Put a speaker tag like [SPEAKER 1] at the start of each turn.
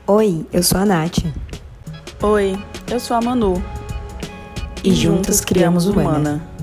[SPEAKER 1] Oi, eu sou a Nath.
[SPEAKER 2] Oi, eu sou a Manu.
[SPEAKER 1] E juntas criamos o Humana.